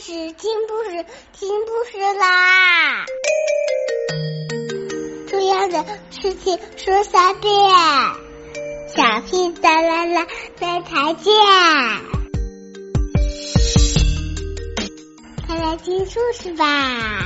事，听故事，听故事啦！重要的事情说3遍，小屁哒啦啦，明天见！快来听故事吧。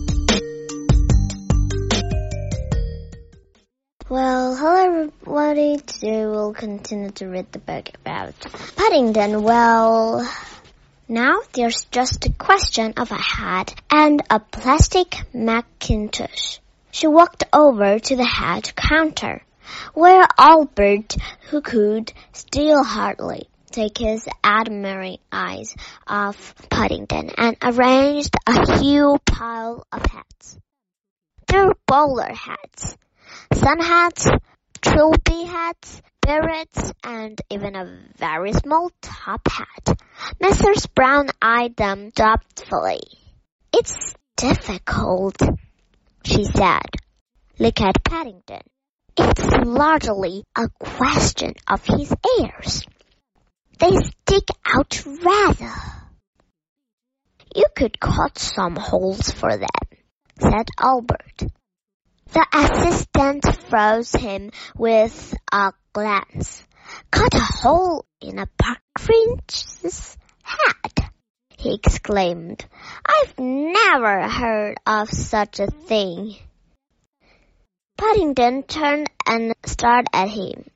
Well, hello everybody. Today we'll continue to read the book about Paddington. Well, now there's just a question of a hat and a plastic Macintosh. She walked over to the hat counter, where Albert, who could still hardly take his admiring eyes off Paddington, and arranged a huge pile of hats. They were bowler hats, sun hats, trilby hats, berets, and even a very small top hat. Mrs. Brown eyed them doubtfully. "It's difficult," she said. "Look at Paddington. It's largely a question of his ears. They stick out rather." "You could cut some holes for them," said Albert. The assistant froze him with a glance. "Cut a hole in a partridge's hat!" he exclaimed. "I've never heard of such a thing." Paddington turned and stared at him.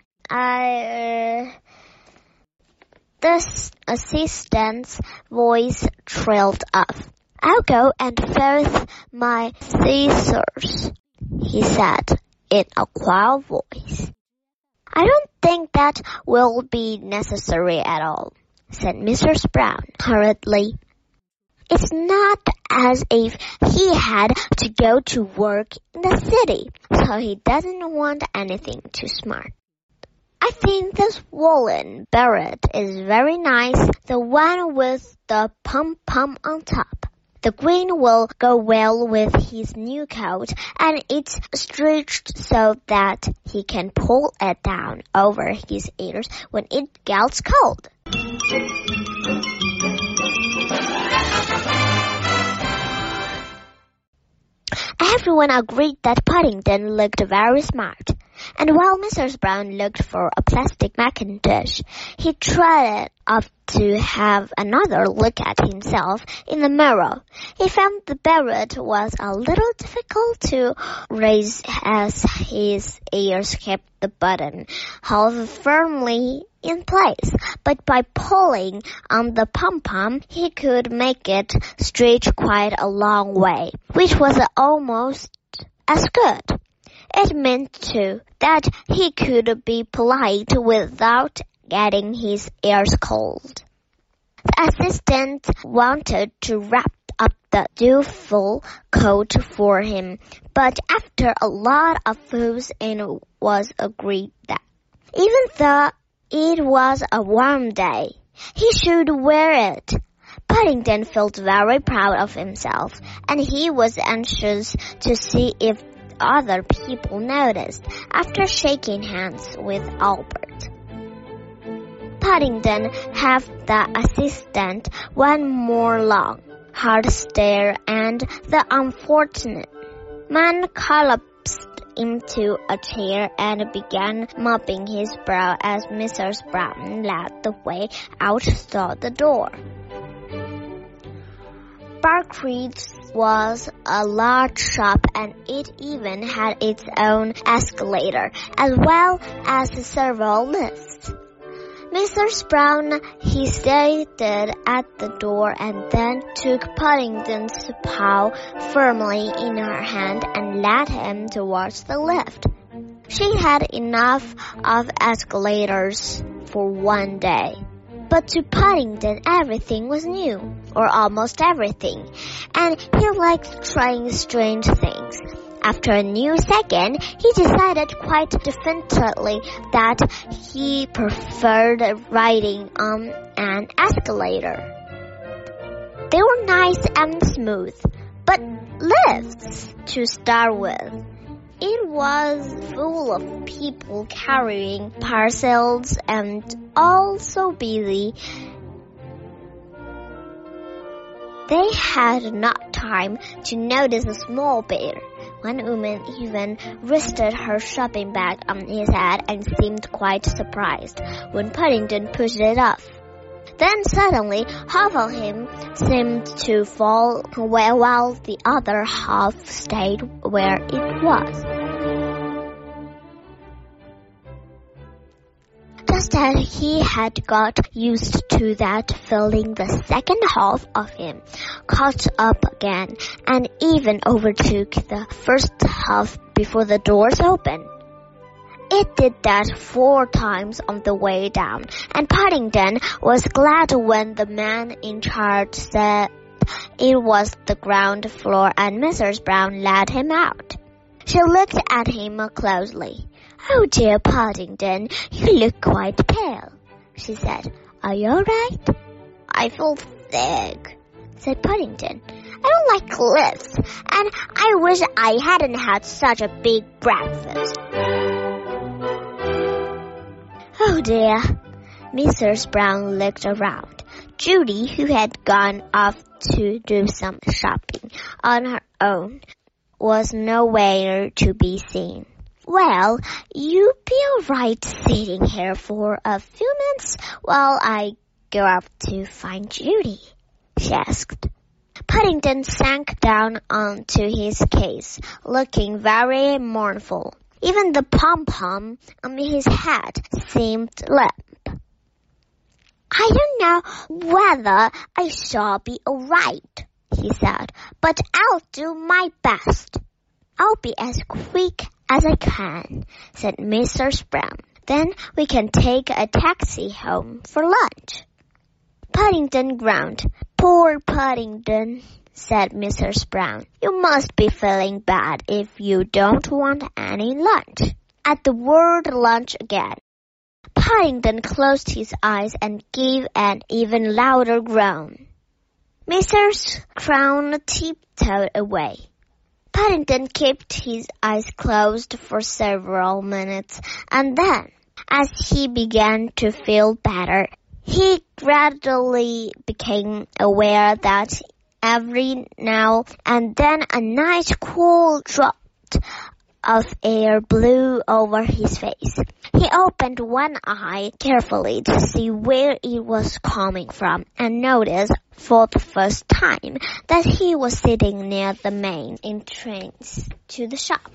The assistant's voice trailed off. "I'll go and fetch my scissors," he said in a quiet voice. "I don't think that will be necessary at all," said Mrs. Brown hurriedly. "It's not as if he had to go to work in the city, so he doesn't want anything too smart. I think this woolen beret is very nice, the one with the pom-pom on top. The green will go well with his new coat, and it's stretched so that he can pull it down over his ears when it gets cold." Everyone agreed that Paddington looked very smart, and while Mrs. Brown looked for a plastic Macintosh, he trotted up to have another look at himself in the mirror. He found the beret was a little difficult to raise as his ears kept the button held firmly in place, but by pulling on the pom-pom, he could make it stretch quite a long way, which was almost as good. It meant, too, that he could be polite without getting his ears cold. The assistant wanted to wrap up the dutiful coat for him, but after a lot of fuss it was agreed that, even though it was a warm day, he should wear it. Paddington felt very proud of himself, and he was anxious to see if other people noticed after shaking hands with Albert. Paddington gave the assistant one more long, hard stare, and the unfortunate man collapsed into a chair and began mopping his brow as Mrs. Brown led the way out through the door. Barclay's was a large shop, and it even had its own escalator, as well as several lifts. Mrs. Brown hesitated at the door and then took Paddington's paw firmly in her hand and led him towards the lift. She had enough of escalators for one day. But to Paddington, everything was new, or almost everything, and he liked trying strange things. After a new second, he decided quite definitely that he preferred riding on an escalator. They were nice and smooth, but lifts to start with. It was full of people carrying parcels and all so busy. They had not time to notice a small bear. One woman even rested her shopping bag on his head and seemed quite surprised when Paddington pushed it off. Then suddenly half of him seemed to fall away while the other half stayed where it was. Just as he had got used to that feeling, the second half of him caught up again and even overtook the first half before the doors opened. It did that 4 times on the way down, and Paddington was glad when the man in charge said it was the ground floor and Mrs. Brown let him out. She looked at him closely. "Oh, dear Paddington, you look quite pale," she said. "Are you all right?" "I feel sick," said Paddington. "I don't like lifts, and I wish I hadn't had such a big breakfast." "Oh, dear." Mrs. Brown looked around. Judy, who had gone off to do some shopping on her own, was nowhere to be seen. "Well, you be all right sitting here for a few minutes while I go up to find Judy?" she asked. Paddington sank down onto his case, looking very mournful. Even the pom-pom on his head seemed limp. "I don't know whether I shall be all right," he said, "but I'll do my best." "I'll be as quick as I can," said Mrs. Brown. "Then we can take a taxi home for lunch." Paddington groaned. "Poor Paddington," said Mrs. Brown. "You must be feeling bad if you don't want any lunch." At the word lunch again, Paddington closed his eyes and gave an even louder groan. Mrs. Brown tiptoed away. Paddington kept his eyes closed for several minutes, and then, as he began to feel better, he gradually became aware that every now and then a nice cool draught of air blew over his face. He opened one eye carefully to see where it was coming from and noticed for the first time that he was sitting near the main entrance to the shop.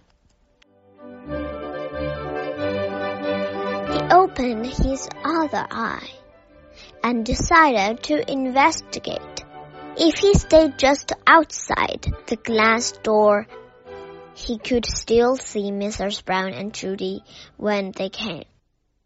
He opened his other eye and decided to investigate. If he stayed just outside the glass door, he could still see Mrs. Brown and Judy when they came.